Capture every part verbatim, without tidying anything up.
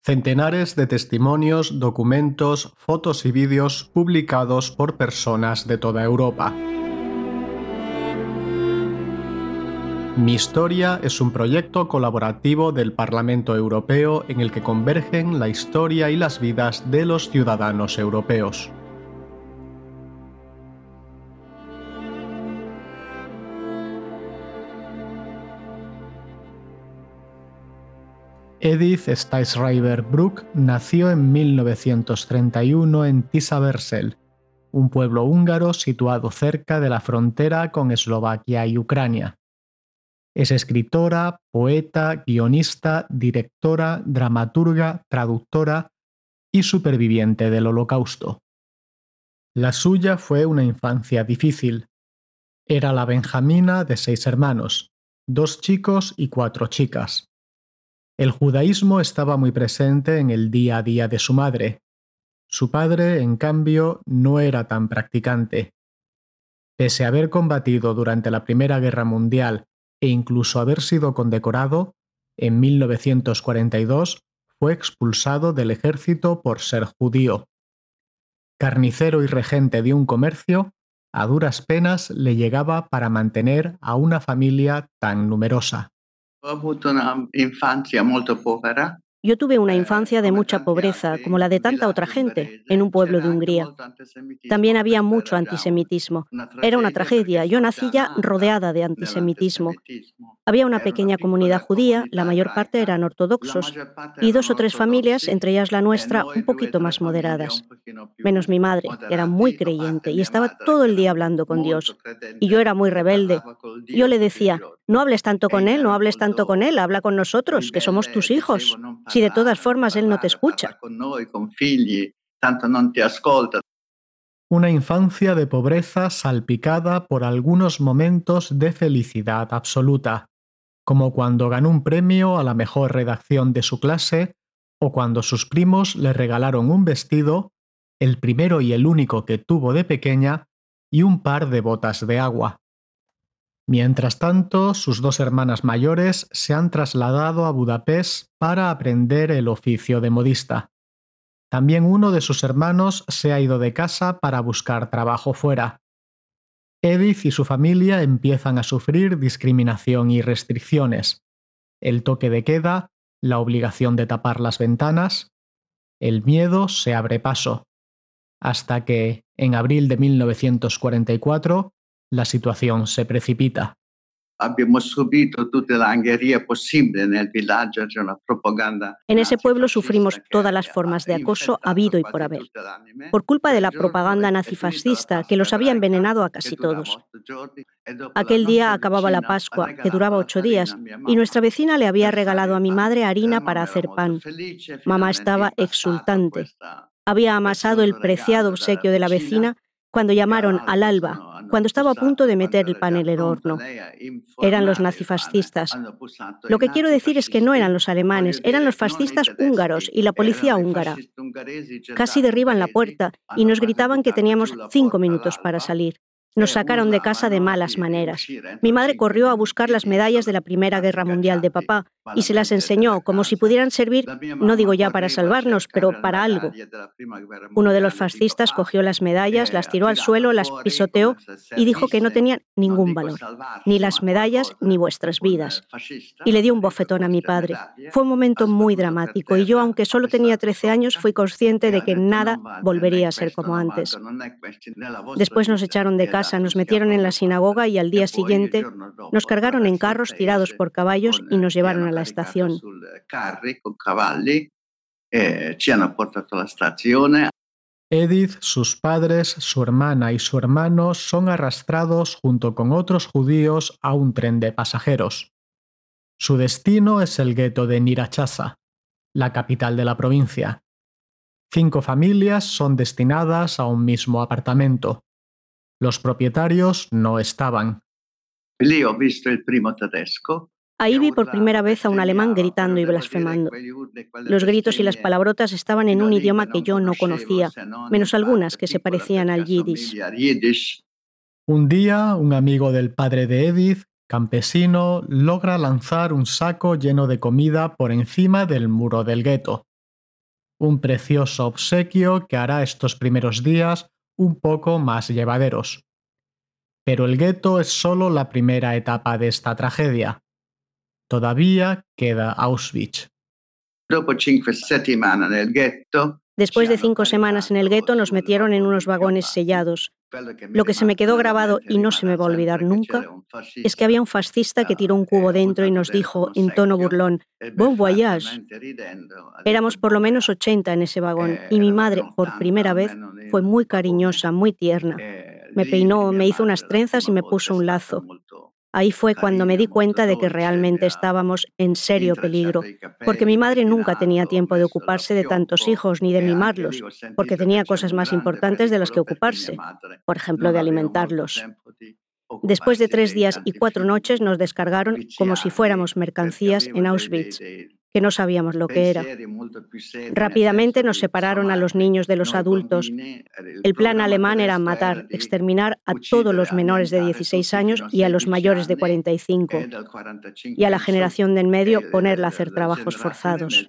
Centenares de testimonios, documentos, fotos y vídeos publicados por personas de toda Europa. Mi Historia es un proyecto colaborativo del Parlamento Europeo en el que convergen la historia y las vidas de los ciudadanos europeos. Edith Stajsrajber-Bruck nació en mil novecientos treinta y uno en Tisaversel, un pueblo húngaro situado cerca de la frontera con Eslovaquia y Ucrania. Es escritora, poeta, guionista, directora, dramaturga, traductora y superviviente del Holocausto. La suya fue una infancia difícil. Era la benjamina de seis hermanos, dos chicos y cuatro chicas. El judaísmo estaba muy presente en el día a día de su madre. Su padre, en cambio, no era tan practicante. Pese a haber combatido durante la Primera Guerra Mundial e incluso haber sido condecorado, en mil novecientos cuarenta y dos fue expulsado del ejército por ser judío. Carnicero y regente de un comercio, a duras penas le llegaba para mantener a una familia tan numerosa. Yo tuve una infancia de mucha pobreza, como la de tanta otra gente, en un pueblo de Hungría. También había mucho antisemitismo. Era una tragedia. Yo nací ya rodeada de antisemitismo. Había una pequeña comunidad judía, la mayor parte eran ortodoxos, y dos o tres familias, entre ellas la nuestra, un poquito más moderadas. Menos mi madre, que era muy creyente y estaba todo el día hablando con Dios. Y yo era muy rebelde. Yo le decía, no hables tanto con él, no hables tanto con él, habla con nosotros, que somos tus hijos. Si de todas formas él no te escucha. Una infancia de pobreza salpicada por algunos momentos de felicidad absoluta, como cuando ganó un premio a la mejor redacción de su clase o cuando sus primos le regalaron un vestido, el primero y el único que tuvo de pequeña, y un par de botas de agua. Mientras tanto, sus dos hermanas mayores se han trasladado a Budapest para aprender el oficio de modista. También uno de sus hermanos se ha ido de casa para buscar trabajo fuera. Edith y su familia empiezan a sufrir discriminación y restricciones. El toque de queda, la obligación de tapar las ventanas. El miedo se abre paso. Hasta que, en abril de mil novecientos cuarenta y cuatro, la situación se precipita. En ese pueblo sufrimos todas las formas de acoso habido y por haber, por culpa de la propaganda nazifascista que los había envenenado a casi todos. Aquel día acababa la Pascua, que duraba ocho días, y nuestra vecina le había regalado a mi madre harina para hacer pan. Mamá estaba exultante. Había amasado el preciado obsequio de la vecina cuando llamaron al alba, cuando estaba a punto de meter el pan en el horno. Eran los nazifascistas. Lo que quiero decir es que no eran los alemanes, eran los fascistas húngaros y la policía húngara. Casi derriban la puerta y nos gritaban que teníamos cinco minutos para salir. Nos sacaron de casa de malas maneras. Mi madre corrió a buscar las medallas de la Primera Guerra Mundial de papá y se las enseñó como si pudieran servir, no digo ya para salvarnos, pero para algo. Uno de los fascistas cogió las medallas, las tiró al suelo, las pisoteó y dijo que no tenían ningún valor, ni las medallas ni vuestras vidas. Y le dio un bofetón a mi padre. Fue un momento muy dramático y yo, aunque solo tenía trece años, fui consciente de que nada volvería a ser como antes. Después nos echaron de casa, nos metieron en la sinagoga y al día siguiente nos cargaron en carros tirados por caballos y nos llevaron a la estación. Edith, sus padres, su hermana y su hermano son arrastrados junto con otros judíos a un tren de pasajeros. Su destino es el gueto de Nyíregyháza, la capital de la provincia. Cinco familias son destinadas a un mismo apartamento. Los propietarios no estaban. Ahí vi por primera vez a un alemán gritando y blasfemando. Los gritos y las palabrotas estaban en un idioma que yo no conocía, menos algunas que se parecían al yiddish. Un día, un amigo del padre de Edith, campesino, logra lanzar un saco lleno de comida por encima del muro del gueto. Un precioso obsequio que hará estos primeros días un poco más llevaderos. Pero el gueto es solo la primera etapa de esta tragedia. Todavía queda Auschwitz. Después de cinco semanas en el gueto nos metieron en unos vagones sellados. Lo que se me quedó grabado y no se me va a olvidar nunca es que había un fascista que tiró un cubo dentro y nos dijo en tono burlón: «Bon voyage». Éramos por lo menos ochenta en ese vagón y mi madre, por primera vez, fue muy cariñosa, muy tierna. Me peinó, me hizo unas trenzas y me puso un lazo. Ahí fue cuando me di cuenta de que realmente estábamos en serio peligro, porque mi madre nunca tenía tiempo de ocuparse de tantos hijos ni de mimarlos, porque tenía cosas más importantes de las que ocuparse, por ejemplo, de alimentarlos. Después de tres días y cuatro noches nos descargaron como si fuéramos mercancías en Auschwitz, que no sabíamos lo que era. Rápidamente nos separaron a los niños de los adultos. El plan alemán era matar, exterminar a todos los menores de dieciséis años y a los mayores de cuarenta y cinco. Y a la generación de en medio ponerla a hacer trabajos forzados.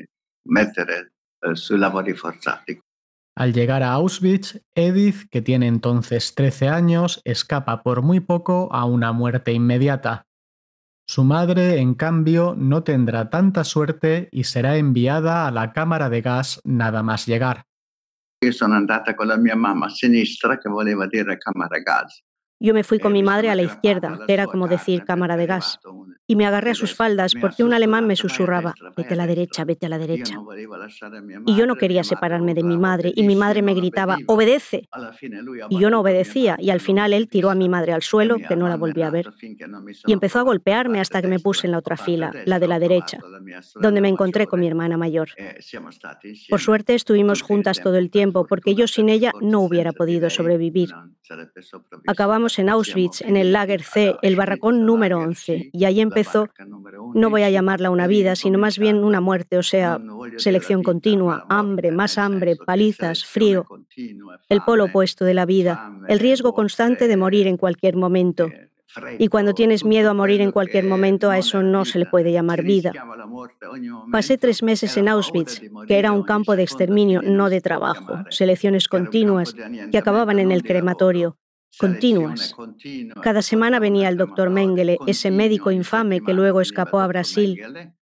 Al llegar a Auschwitz, Edith, que tiene entonces trece años, escapa por muy poco a una muerte inmediata. Su madre, en cambio, no tendrá tanta suerte y será enviada a la cámara de gas nada más llegar. Io sono andata con la mia mamma a sinistra, che voleva dire camera gas. Yo me fui con mi madre a la izquierda, que era como decir cámara de gas, y me agarré a sus faldas porque un alemán me susurraba: «Vete a la derecha, vete a la derecha». Y yo no quería separarme de mi madre, y mi madre me gritaba: «¡Obedece!». Y yo no obedecía, y al final él tiró a mi madre al suelo, que no la volví a ver, y empezó a golpearme hasta que me puse en la otra fila, la de la derecha, donde me encontré con mi hermana mayor. Por suerte estuvimos juntas todo el tiempo, porque yo sin ella no hubiera podido sobrevivir. Acabamos en Auschwitz, en el Lager C, el barracón número once, y ahí empezó, no voy a llamarla una vida, sino más bien una muerte, o sea, selección continua, hambre, más hambre, palizas, frío, el polo opuesto de la vida, el riesgo constante de morir en cualquier momento. Y cuando tienes miedo a morir en cualquier momento, a eso no se le puede llamar vida. Pasé tres meses en Auschwitz, que era un campo de exterminio, no de trabajo, selecciones continuas que acababan en el crematorio. Continuas. Cada semana venía el doctor Mengele, ese médico infame que luego escapó a Brasil.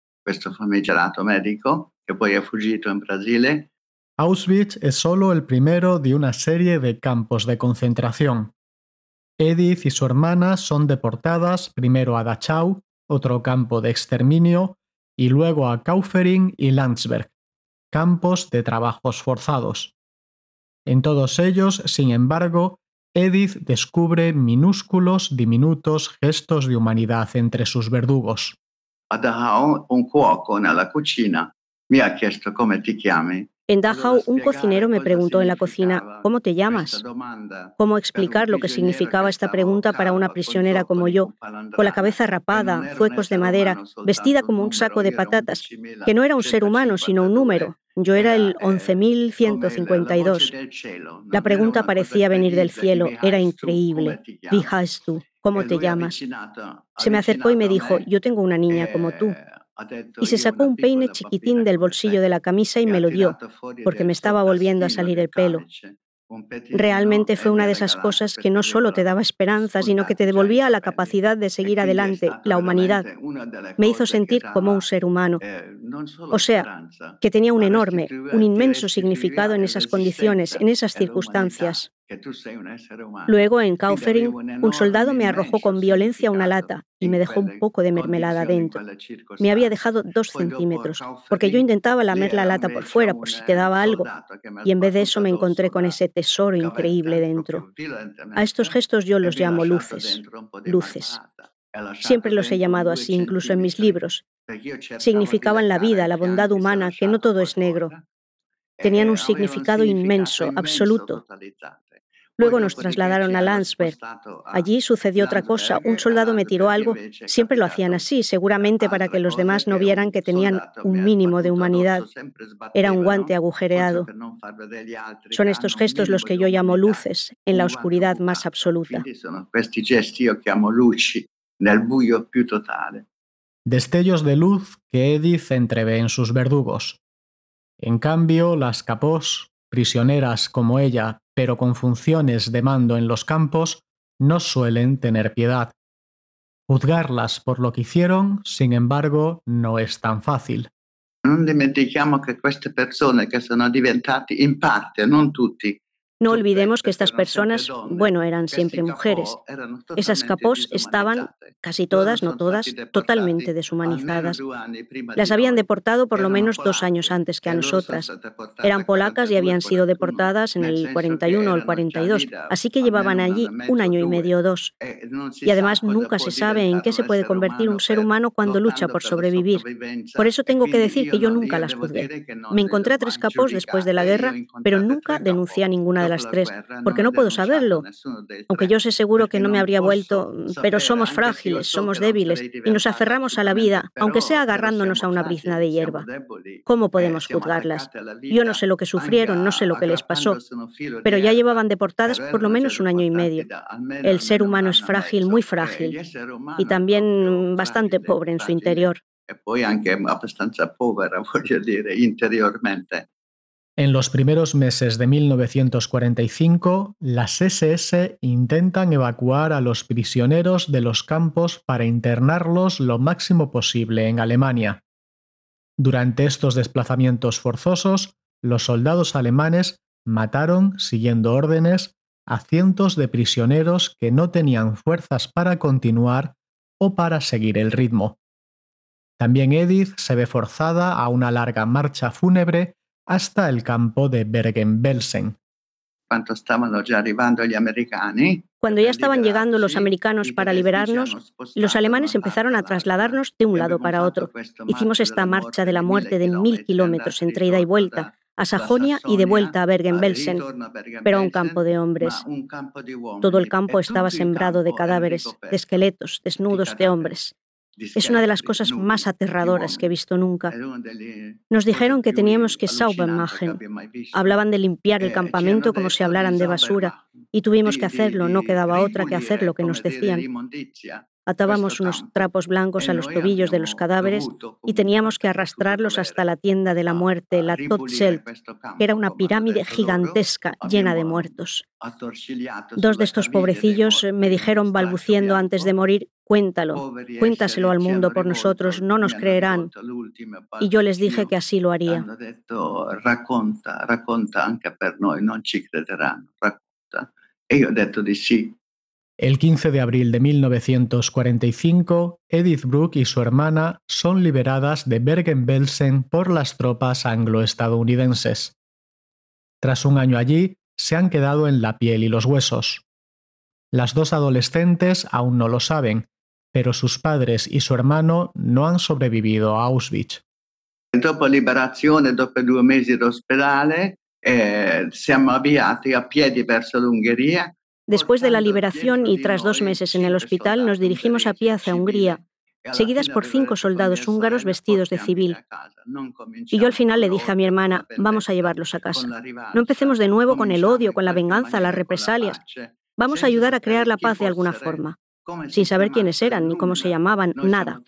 Auschwitz es solo el primero de una serie de campos de concentración. Edith y su hermana son deportadas primero a Dachau, otro campo de exterminio, y luego a Kaufering y Landsberg, campos de trabajos forzados. En todos ellos, sin embargo, Edith descubre minúsculos, diminutos gestos de humanidad entre sus verdugos. A Dachau, un cuoco nella cucina mi ha chiesto come ti chiami. En Dachau, un cocinero me preguntó en la cocina: «¿Cómo te llamas?». ¿Cómo explicar lo que significaba esta pregunta para una prisionera como yo, con la cabeza rapada, zuecos de madera, vestida como un saco de patatas, que no era un ser humano, sino un número? Yo era el once mil ciento cincuenta y dos. La pregunta parecía venir del cielo, era increíble. «Wie heißt du?», ¿cómo te llamas? Se me acercó y me dijo: «Yo tengo una niña como tú». Y se sacó un peine chiquitín del bolsillo de la camisa y me lo dio, porque me estaba volviendo a salir el pelo. Realmente fue una de esas cosas que no solo te daba esperanza, sino que te devolvía la capacidad de seguir adelante, la humanidad. Me hizo sentir como un ser humano. O sea, que tenía un enorme, un inmenso significado en esas condiciones, en esas circunstancias. Luego, en Kaufering, un soldado me arrojó con violencia una lata y me dejó un poco de mermelada dentro. Me había dejado dos centímetros, porque yo intentaba lamer la lata por fuera por si quedaba algo, y en vez de eso me encontré con ese tesoro increíble dentro. A estos gestos yo los llamo luces, luces. Siempre los he llamado así, incluso en mis libros. Significaban la vida, la bondad humana, que no todo es negro. Tenían un significado inmenso, absoluto. Luego nos trasladaron a Landsberg. Allí sucedió otra cosa. Un soldado me tiró algo. Siempre lo hacían así, seguramente para que los demás no vieran que tenían un mínimo de humanidad. Era un guante agujereado. Son estos gestos los que yo llamo luces, en la oscuridad más absoluta. Destellos de luz que Edith entrevé en sus verdugos. En cambio, las capós, prisioneras como ella, pero con funciones de mando en los campos, no suelen tener piedad. Juzgarlas por lo que hicieron, sin embargo, no es tan fácil. Non dimentichiamo che queste persone che sono diventate in parte, non tutti. No olvidemos que estas personas, bueno, eran siempre mujeres. Esas capós estaban, casi todas, no todas, totalmente deshumanizadas. Las habían deportado por lo menos dos años antes que a nosotras. Eran polacas y habían sido deportadas en el cuarenta y uno o el cuarenta y dos, así que llevaban allí un año y medio o dos. Y además nunca se sabe en qué se puede convertir un ser humano cuando lucha por sobrevivir. Por eso tengo que decir que yo nunca las juzgué. Me encontré a tres capós después de la guerra, pero nunca denuncié a ninguna de las tres, porque no puedo saberlo. Aunque yo sé seguro que no me habría vuelto, pero somos frágiles, somos débiles y nos aferramos a la vida, aunque sea agarrándonos a una brizna de hierba. ¿Cómo podemos juzgarlas? Yo no sé lo que sufrieron, no sé lo que les pasó, pero ya llevaban deportadas por lo menos un año y medio. El ser humano es frágil, muy frágil, y también bastante pobre en su interior. E poi anche abbastanza povera, voglio dire, interiormente. En los primeros meses de mil novecientos cuarenta y cinco, las ese ese intentan evacuar a los prisioneros de los campos para internarlos lo máximo posible en Alemania. Durante estos desplazamientos forzosos, los soldados alemanes mataron, siguiendo órdenes, a cientos de prisioneros que no tenían fuerzas para continuar o para seguir el ritmo. También Edith se ve forzada a una larga marcha fúnebre hasta el campo de Bergen-Belsen. Cuando estaban ya arribando gli americani, Cuando ya estaban llegando los americanos para liberarnos, los alemanes empezaron a trasladarnos de un lado para otro. Hicimos esta marcha de la muerte de mil kilómetros entre ida y vuelta, a Sajonia y de vuelta a Bergen-Belsen, pero a un campo de hombres. Todo el campo estaba sembrado de cadáveres, de esqueletos, desnudos de hombres. Es una de las cosas más aterradoras que he visto nunca. Nos dijeron que teníamos que sauber machen. Hablaban de limpiar el campamento como si hablaran de basura, y tuvimos que hacerlo, no quedaba otra que hacer lo que nos decían. Atábamos unos trapos blancos a los tobillos de los cadáveres y teníamos que arrastrarlos hasta la tienda de la muerte, la Todzelt, que era una pirámide gigantesca llena de muertos. Dos de estos pobrecillos me dijeron balbuciendo antes de morir: cuéntalo, cuéntaselo al mundo por nosotros, no nos creerán. Y yo les dije que así lo haría. Racconta, racconta anche per noi, non ci crederanno, racconta. E io ho detto di sì. El quince de abril de mil novecientos cuarenta y cinco, Edith Bruck y su hermana son liberadas de Bergen-Belsen por las tropas anglo-estadounidenses. Tras un año allí, se han quedado en la piel y los huesos. Las dos adolescentes aún no lo saben, pero sus padres y su hermano no han sobrevivido a Auschwitz. Dopo liberazione, dopo due mesi d'ospedale, eh, siamo avviati a piedi verso l'Ungheria. Después de la liberación y tras dos meses en el hospital, nos dirigimos a pie hacia Hungría, seguidas por cinco soldados húngaros vestidos de civil. Y yo al final le dije a mi hermana: vamos a llevarlos a casa. No empecemos de nuevo con el odio, con la venganza, las represalias. Vamos a ayudar a crear la paz de alguna forma. Sin saber quiénes eran ni cómo se llamaban, nada.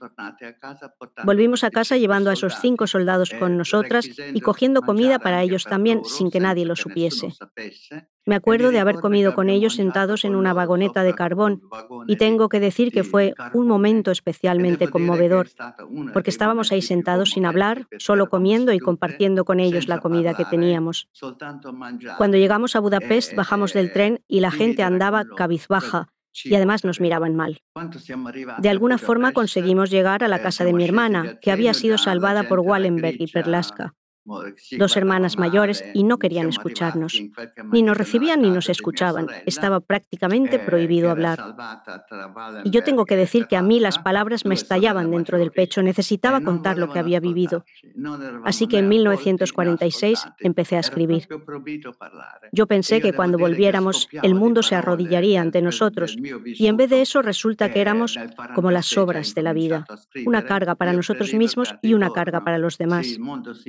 Volvimos a casa llevando a esos cinco soldados con nosotras y cogiendo comida para ellos también, sin que nadie lo supiese. Me acuerdo de haber comido con ellos sentados en una vagoneta de carbón, y tengo que decir que fue un momento especialmente conmovedor, porque estábamos ahí sentados sin hablar, solo comiendo y compartiendo con ellos la comida que teníamos. Cuando llegamos a Budapest, bajamos del tren y la gente andaba cabizbaja, y además nos miraban mal. De alguna forma conseguimos llegar a la casa de mi hermana, que había sido salvada por Wallenberg y Perlaska, dos hermanas mayores, y no querían escucharnos. Ni nos recibían ni nos escuchaban. Estaba prácticamente prohibido hablar. Y yo tengo que decir que a mí las palabras me estallaban dentro del pecho. Necesitaba contar lo que había vivido. Así que en mil novecientos cuarenta y seis empecé a escribir. Yo pensé que cuando volviéramos el mundo se arrodillaría ante nosotros, y en vez de eso resulta que éramos como las sobras de la vida, una carga para nosotros mismos y una carga para los demás.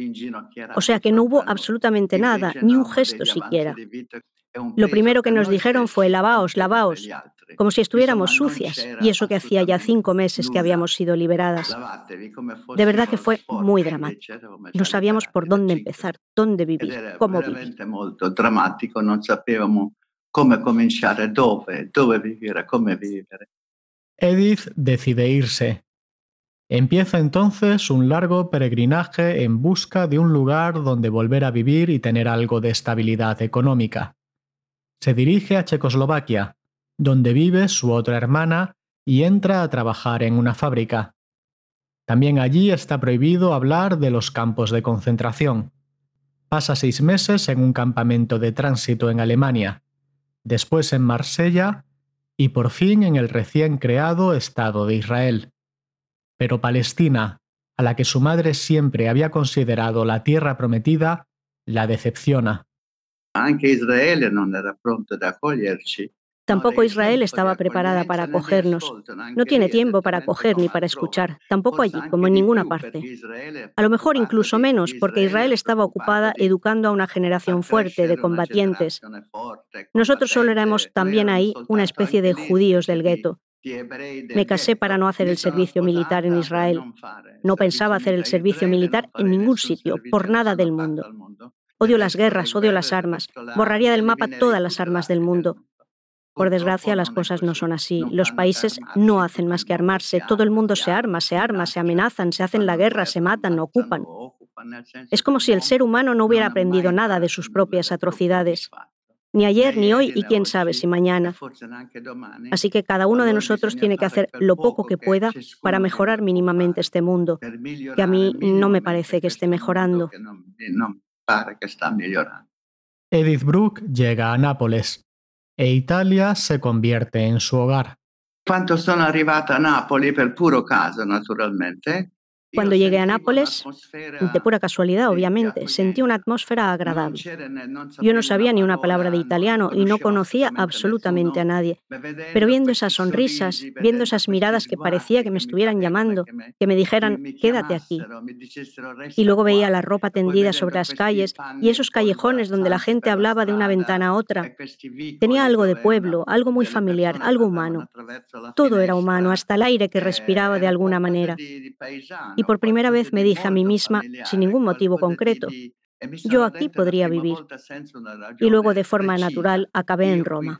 O sea que no hubo absolutamente nada, ni un gesto siquiera. Lo primero que nos dijeron fue lavaos, lavaos, como si estuviéramos sucias, y eso que hacía ya cinco meses que habíamos sido liberadas. De verdad que fue muy dramático. No sabíamos por dónde empezar, dónde vivir, cómo vivir. Molto drammatico, non sapevamo come cominciare, dove, dove vivere, come vivere. Edith decide irse. Empieza entonces un largo peregrinaje en busca de un lugar donde volver a vivir y tener algo de estabilidad económica. Se dirige a Checoslovaquia, donde vive su otra hermana, y entra a trabajar en una fábrica. También allí está prohibido hablar de los campos de concentración. Pasa seis meses en un campamento de tránsito en Alemania, después en Marsella y por fin en el recién creado Estado de Israel. Pero Palestina, a la que su madre siempre había considerado la tierra prometida, la decepciona. Anche Israele non era pronto ad accoglierci. Tampoco Israel estaba preparada para acogernos. No tiene tiempo para acoger ni para escuchar, tampoco allí, como en ninguna parte. A lo mejor incluso menos, porque Israel estaba ocupada educando a una generación fuerte de combatientes. Nosotros solo éramos también ahí una especie de judíos del gueto. Me casé para no hacer el servicio militar en Israel. No pensaba hacer el servicio militar en ningún sitio, por nada del mundo. Odio las guerras, odio las armas. Borraría del mapa todas las armas del mundo. Por desgracia, las cosas no son así. Los países no hacen más que armarse. Todo el mundo se arma, se arma, se amenazan, se hacen la guerra, se matan, ocupan. Es como si el ser humano no hubiera aprendido nada de sus propias atrocidades. Ni ayer, ni hoy, y quién sabe si mañana. Así que cada uno de nosotros tiene que hacer lo poco que pueda para mejorar mínimamente este mundo, que a mí no me parece que esté mejorando. Edith Bruck llega a Nápoles e Italia se convierte en su hogar. Quando sono arrivata a Napoli, per puro caso, naturalmente. Cuando llegué a Nápoles, de pura casualidad, obviamente, sentí una atmósfera agradable. Yo no sabía ni una palabra de italiano y no conocía absolutamente a nadie. Pero viendo esas sonrisas, viendo esas miradas que parecía que me estuvieran llamando, que me dijeran, quédate aquí. Y luego veía la ropa tendida sobre las calles y esos callejones donde la gente hablaba de una ventana a otra. Tenía algo de pueblo, algo muy familiar, algo humano. Todo era humano, hasta el aire que respiraba de alguna manera. Y por primera vez me dije a mí misma, sin ningún motivo concreto, yo aquí podría vivir. Y luego de forma natural acabé en Roma.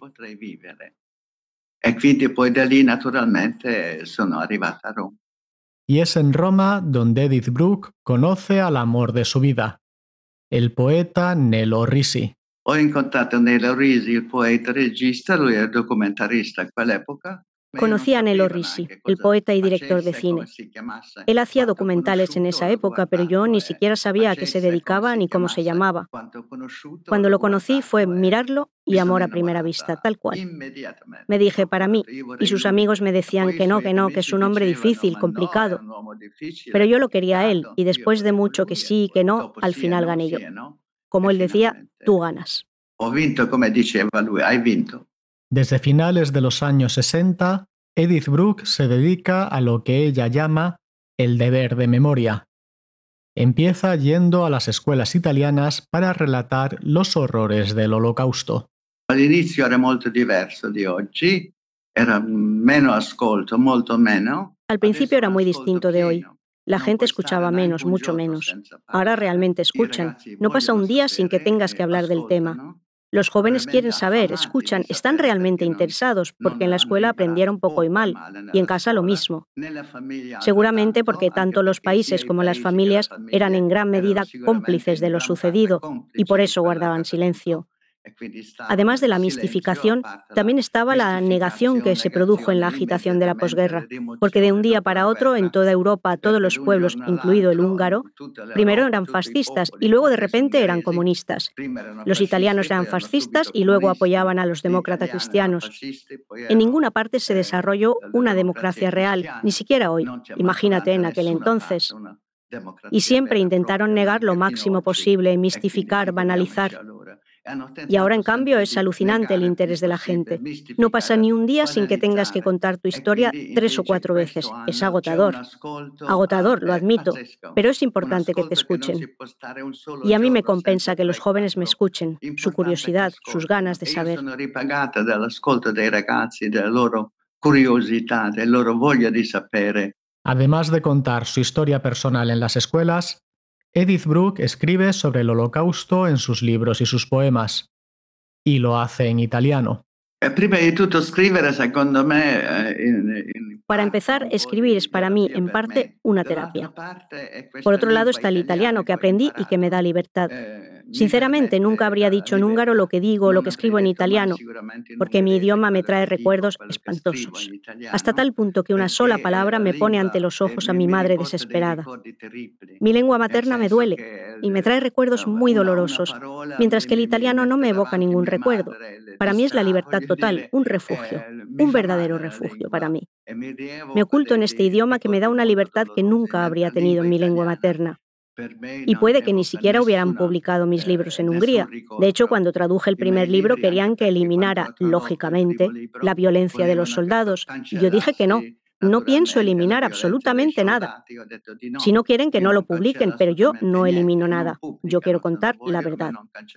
Y es en Roma donde Edith Bruck conoce al amor de su vida, el poeta Nello Risi. Ho incontrato Nello Risi, il poeta regista, lui era documentarista a quell'epoca. Conocí a Nello Risi, el poeta y director de cine. Él hacía documentales en esa época, pero yo ni siquiera sabía a qué se dedicaba ni cómo se llamaba. Cuando lo conocí fue mirarlo y amor a primera vista, tal cual. Me dije, para mí, y sus amigos me decían que no, que no, que es un hombre difícil, complicado. Pero yo lo quería a él, y después de mucho que sí y que no, al final gané yo. Como él decía, tú ganas. Ho vinto, come diceva lui, hai vinto. Desde finales de los años sesenta, Edith Bruck se dedica a lo que ella llama el deber de memoria. Empieza yendo a las escuelas italianas para relatar los horrores del Holocausto. All'inizio era molto diverso di oggi, era meno ascolto, molto meno. Al principio era muy distinto de hoy. La gente escuchaba menos, mucho menos. Ahora realmente escuchan. No pasa un día sin que tengas que hablar del tema. Los jóvenes quieren saber, escuchan, están realmente interesados, porque en la escuela aprendieron poco y mal, y en casa lo mismo. Seguramente porque tanto los países como las familias eran en gran medida cómplices de lo sucedido, y por eso guardaban silencio. Además de la mistificación, también estaba la negación que se produjo en la agitación de la posguerra, porque de un día para otro en toda Europa todos los pueblos, incluido el húngaro, primero eran fascistas y luego de repente eran comunistas. Los italianos eran fascistas y luego apoyaban a los demócratas cristianos. En ninguna parte se desarrolló una democracia real, ni siquiera hoy, imagínate en aquel entonces. Y siempre intentaron negar lo máximo posible, mistificar, banalizar. Y ahora, en cambio, es alucinante el interés de la gente. No pasa ni un día sin que tengas que contar tu historia tres o cuatro veces. Es agotador. Agotador, lo admito, pero es importante que te escuchen. Y a mí me compensa que los jóvenes me escuchen, su curiosidad, sus ganas de saber. Además de contar su historia personal en las escuelas, Edith Bruck escribe sobre el Holocausto en sus libros y sus poemas, y lo hace en italiano. Para empezar, escribir es para mí, en parte, una terapia. Por otro lado está el italiano que aprendí y que me da libertad. Sinceramente, nunca habría dicho en húngaro lo que digo o lo que escribo en italiano, porque mi idioma me trae recuerdos espantosos, hasta tal punto que una sola palabra me pone ante los ojos a mi madre desesperada. Mi lengua materna me duele y me trae recuerdos muy dolorosos, mientras que el italiano no me evoca ningún recuerdo. Para mí es la libertad total, un refugio, un verdadero refugio para mí. Me oculto en este idioma que me da una libertad que nunca habría tenido en mi lengua materna. Y puede que ni siquiera hubieran publicado mis libros en Hungría. De hecho, cuando traduje el primer libro querían que eliminara, lógicamente, la violencia de los soldados. Y yo dije que no, no pienso eliminar absolutamente nada. Si no quieren, que no lo publiquen, pero yo no elimino nada. Yo quiero contar la verdad.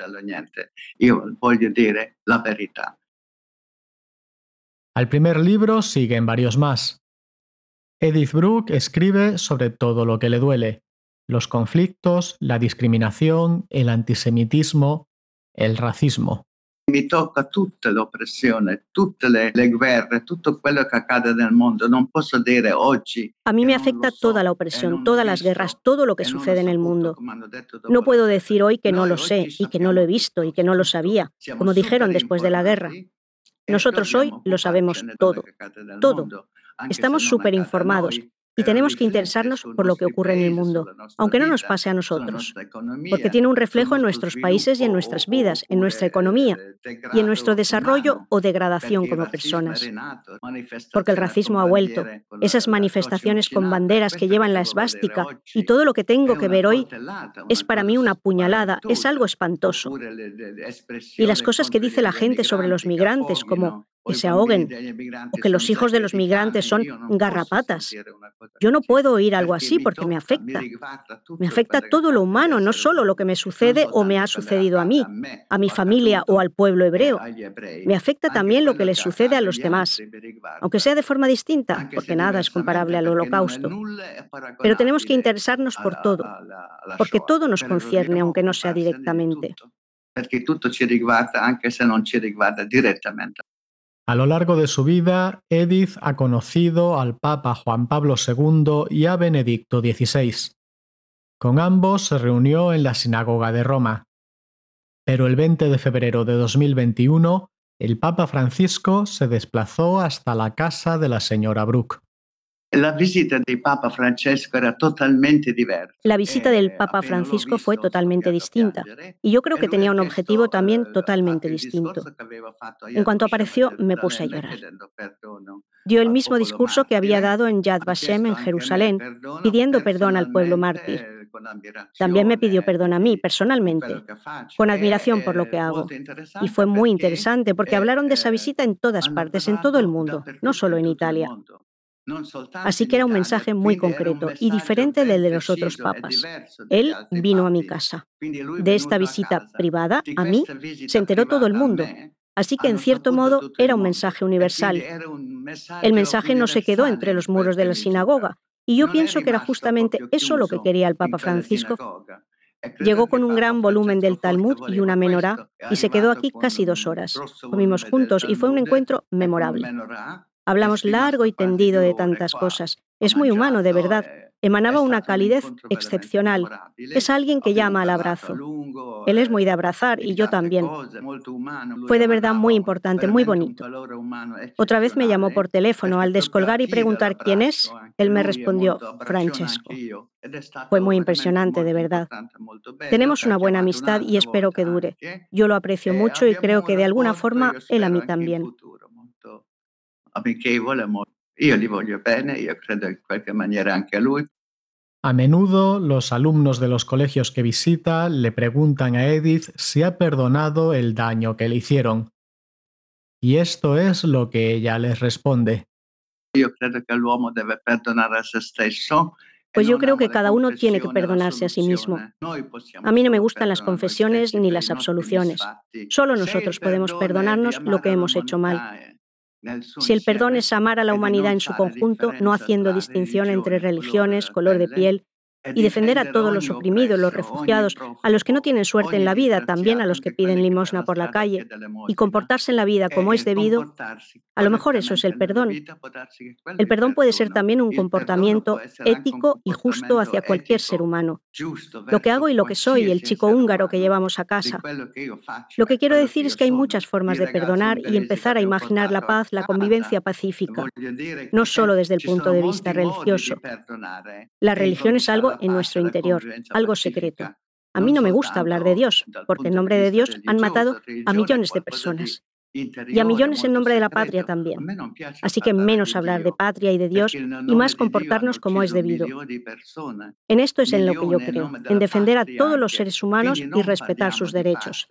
Al primer libro siguen varios más. Edith Bruck escribe sobre todo lo que le duele: los conflictos, la discriminación, el antisemitismo, el racismo. Mi tocca tutta l'oppressione, tutte le, le guerre, tutto quello che accade nel mondo. Non posso dire oggi. A mí me afecta toda la opresión, todas las guerras, todo lo que sucede en el mundo. No puedo decir hoy que no lo sé y que no lo he visto y que no lo sabía, como dijeron después de la guerra. Nosotros hoy lo sabemos todo, todo. Estamos súper informados y tenemos que interesarnos por lo que ocurre en el mundo, aunque no nos pase a nosotros, porque tiene un reflejo en nuestros países y en nuestras vidas, en nuestra economía y en nuestro desarrollo o degradación como personas. Porque el racismo ha vuelto, esas manifestaciones con banderas que llevan la esvástica y todo lo que tengo que ver hoy es para mí una puñalada, es algo espantoso. Y las cosas que dice la gente sobre los migrantes, como que se ahoguen o que los hijos de los migrantes son garrapatas. Yo no puedo oír algo así porque me afecta. Me afecta todo lo humano, no solo lo que me sucede o me ha sucedido a mí, a mi familia o al pueblo hebreo. Me afecta también lo que les sucede a los demás, aunque sea de forma distinta, porque nada es comparable al Holocausto. Pero tenemos que interesarnos por todo, porque todo nos concierne, aunque no sea directamente. Perché tutto ci riguarda, anche se non ci riguarda direttamente. A lo largo de su vida, Edith ha conocido al Papa Juan Pablo segundo y a Benedicto dieciséis. Con ambos se reunió en la Sinagoga de Roma. Pero el veinte de febrero de dos mil veintiuno, el Papa Francisco se desplazó hasta la casa de la señora Bruck. La visita del Papa Francesco era totalmente diversa. La visita del Papa Francisco fue totalmente distinta, y yo creo que tenía un objetivo también totalmente distinto. En cuanto apareció, me puse a llorar. Dio el mismo discurso que había dado en Yad Vashem en Jerusalén, pidiendo perdón al pueblo mártir. También me pidió perdón a mí, personalmente, con admiración por lo que hago. Y fue muy interesante porque hablaron de esa visita en todas partes, en todo el mundo, no solo en Italia. Así que era un mensaje muy concreto y diferente del de los otros papas. Él vino a mi casa. De esta visita privada, a mí, se enteró todo el mundo. Así que, en cierto modo, era un mensaje universal. El mensaje no se quedó entre los muros de la sinagoga, y yo pienso que era justamente eso lo que quería el Papa Francisco. Llegó con un gran volumen del Talmud y una menorá, y se quedó aquí casi dos horas. Comimos juntos y fue un encuentro memorable. Hablamos largo y tendido de tantas cosas. Es muy humano, de verdad. Emanaba una calidez excepcional. Es alguien que llama al abrazo. Él es muy de abrazar y yo también. Fue de verdad muy importante, muy bonito. Otra vez me llamó por teléfono. Al descolgar y preguntar quién es, él me respondió, Francesco. Fue muy impresionante, de verdad. Tenemos una buena amistad y espero que dure. Yo lo aprecio mucho y creo que de alguna forma él a mí también. Amichevole, io gli voglio bene, io credo in qualche maniera anche a lui. A menudo, los alumnos de los colegios que visita le preguntan a Edith si ha perdonado el daño que le hicieron. Y esto es lo que ella les responde. Yo creo que el hombre debe perdonar a sí mismo. Pues yo creo que cada uno tiene que perdonarse a sí mismo. A mí no me gustan las confesiones ni las absoluciones. Solo nosotros podemos perdonarnos lo que hemos hecho mal. Si el perdón es amar a la humanidad en su conjunto, no haciendo distinción entre religiones, color de piel, y defender a todos los oprimidos, los refugiados, a los que no tienen suerte en la vida, también a los que piden limosna por la calle, y comportarse en la vida como es debido, a lo mejor eso es el perdón. El perdón puede ser también un comportamiento ético y justo hacia cualquier ser humano. Lo que hago y lo que soy, el chico húngaro que llevamos a casa. Lo que quiero decir es que hay muchas formas de perdonar y empezar a imaginar la paz, la convivencia pacífica, no solo desde el punto de vista religioso. La religión es algo en nuestro interior, algo secreto. A mí no me gusta hablar de Dios, porque en nombre de Dios han matado a millones de personas. Y a millones en nombre de la patria también. Así que menos hablar de patria y de Dios y más comportarnos como es debido. En esto es en lo que yo creo, en defender a todos los seres humanos y respetar sus derechos.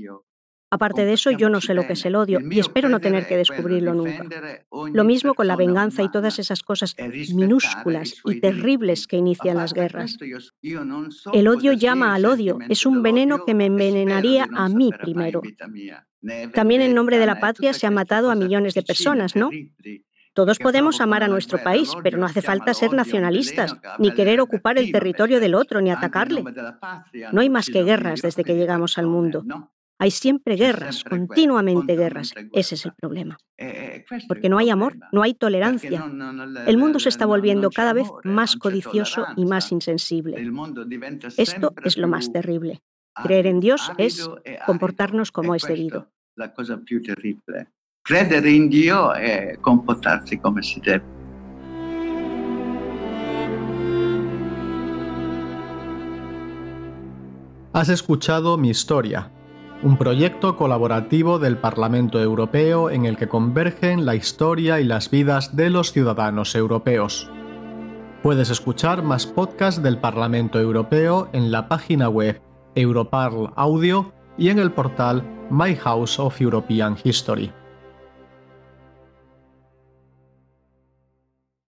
Aparte de eso, yo no sé lo que es el odio y espero no tener que descubrirlo nunca. Lo mismo con la venganza y todas esas cosas minúsculas y terribles que inician las guerras. El odio llama al odio, es un veneno que me envenenaría a mí primero. También en nombre de la patria se ha matado a millones de personas, ¿no? Todos podemos amar a nuestro país, pero no hace falta ser nacionalistas, ni querer ocupar el territorio del otro, ni atacarle. No hay más que guerras desde que llegamos al mundo. Hay siempre guerras, continuamente guerras. Ese es el problema. Porque no hay amor, no hay tolerancia. El mundo se está volviendo cada vez más codicioso y más insensible. Esto es lo más terrible. Creer en Dios es comportarnos como es debido. La cosa più terribile. Credere in Dio e comportarsi come si deve. Has escuchado Mi Historia, un proyecto colaborativo del Parlamento Europeo en el que convergen la historia y las vidas de los ciudadanos europeos. Puedes escuchar más podcasts del Parlamento Europeo en la página web Europarl Audio y en el portal My House of European History.